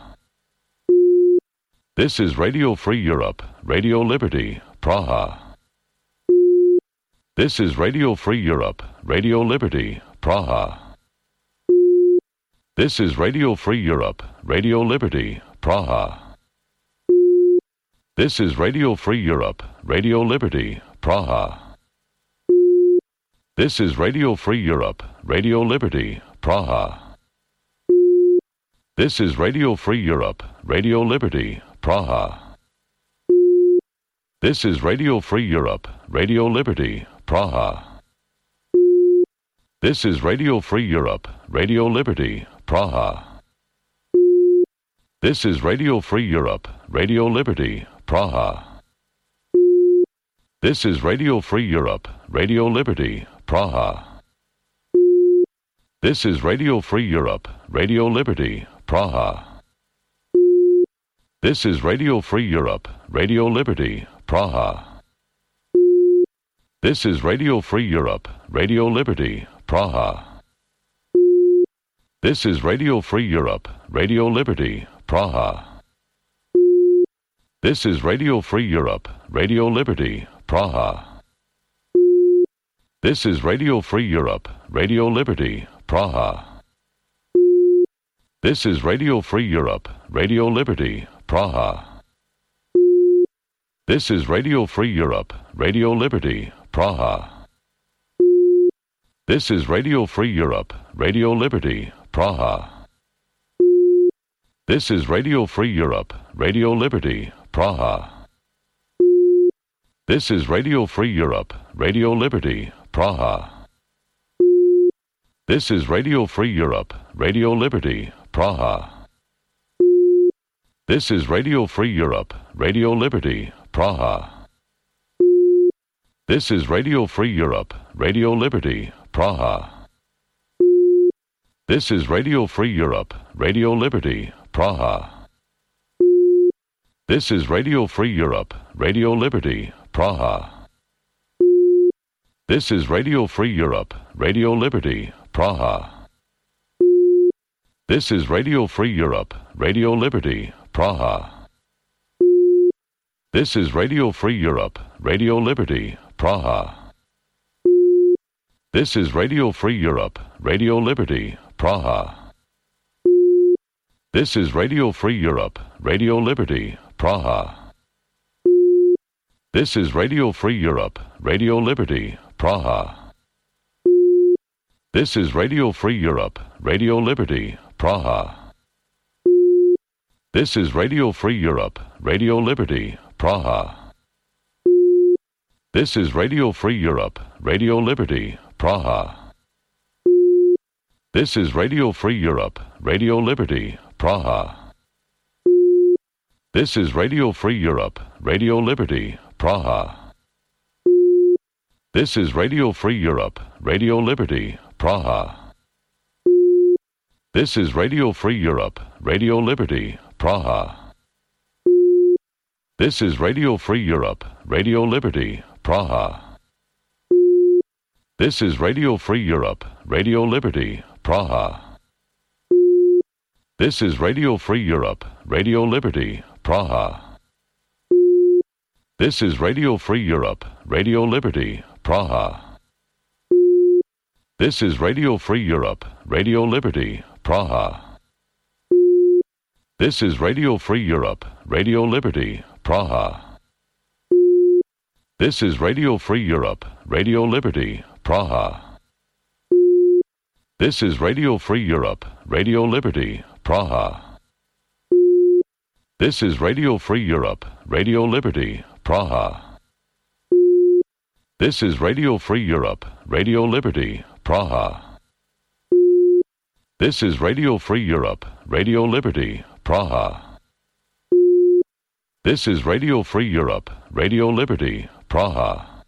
S1: This is Radio Free Europe, Radio Liberty, Praha. This is Radio Free Europe, Radio Liberty, Praha. This is Radio Free Europe, Radio Liberty, Praha. This is Radio Free Europe, Radio Liberty, Praha. This is Radio Free Europe, Radio Liberty, Praha. This is Radio Free Europe, Radio Liberty, Praha. This is Radio Free Europe, Radio Liberty, Praha. This is Radio Free Europe, Radio Liberty, Praha. This is Radio Free Europe, Radio Liberty, Praha. This is Radio Free Europe, Radio Liberty, Praha. This is Radio Free Europe, Radio Liberty, Praha. This is Radio Free Europe, Radio Liberty, Praha. This is Radio Free Europe, Radio Liberty, Praha. This is Radio Free Europe, Radio Liberty, Praha. This is Radio Free Europe, Radio Liberty, Praha. This is Radio Free Europe, Radio Liberty, Praha. This is Radio Free Europe, Radio Liberty, Praha. This is Radio Free Europe, Radio Liberty, Praha. This is Radio Free Europe, Radio Liberty, Praha. This is Radio Free Europe, Radio Liberty, Praha. This is Radio Free Europe, Radio Liberty, Praha. This is Radio Free Europe, Radio Liberty, Praha. This is Radio Free Europe, Radio Liberty, Praha. This is Radio Free Europe, Radio Liberty, Praha. This is Radio Free Europe, Radio Liberty, Praha. This is Radio Free Europe, Radio Liberty, Praha. This is Radio Free Europe, Radio Liberty, Praha. This is Radio Free Europe, Radio Liberty, Praha. This is Radio Free Europe, Radio Liberty, Praha. This is Radio Free Europe, Radio Liberty, Praha. This is Radio Free Europe, Radio Liberty, Praha. This is Radio Free Europe, Radio Liberty, Praha. This is Radio Free Europe, Radio Liberty, Praha. This is Radio Free Europe, Radio Liberty, Praha. This is Radio Free Europe, Radio Liberty, Praha. This is Radio Free Europe, Radio Liberty, Praha. This is Radio Free Europe, Radio Liberty, Praha. This is Radio Free Europe, Radio Liberty, Praha. This is Radio Free Europe, Radio Liberty, Praha. This is Radio Free Europe, Radio Liberty, Praha. This is Radio Free Europe, Radio Liberty, Praha. This is Radio Free Europe, Radio Liberty, Praha. This is Radio Free Europe, Radio Liberty, Praha. This is Radio Free Europe, Radio Liberty, Praha. This is Radio Free Europe, Radio Liberty, Praha. This is Radio Free Europe, Radio Liberty, Praha. This is Radio Free Europe, Radio Liberty, Praha. This is Radio Free Europe, Radio Liberty, Praha. This is Radio Free Europe, Radio Liberty, Praha. This is Radio Free Europe, Radio Liberty, Praha. This is Radio Free Europe, Radio Liberty, Praha.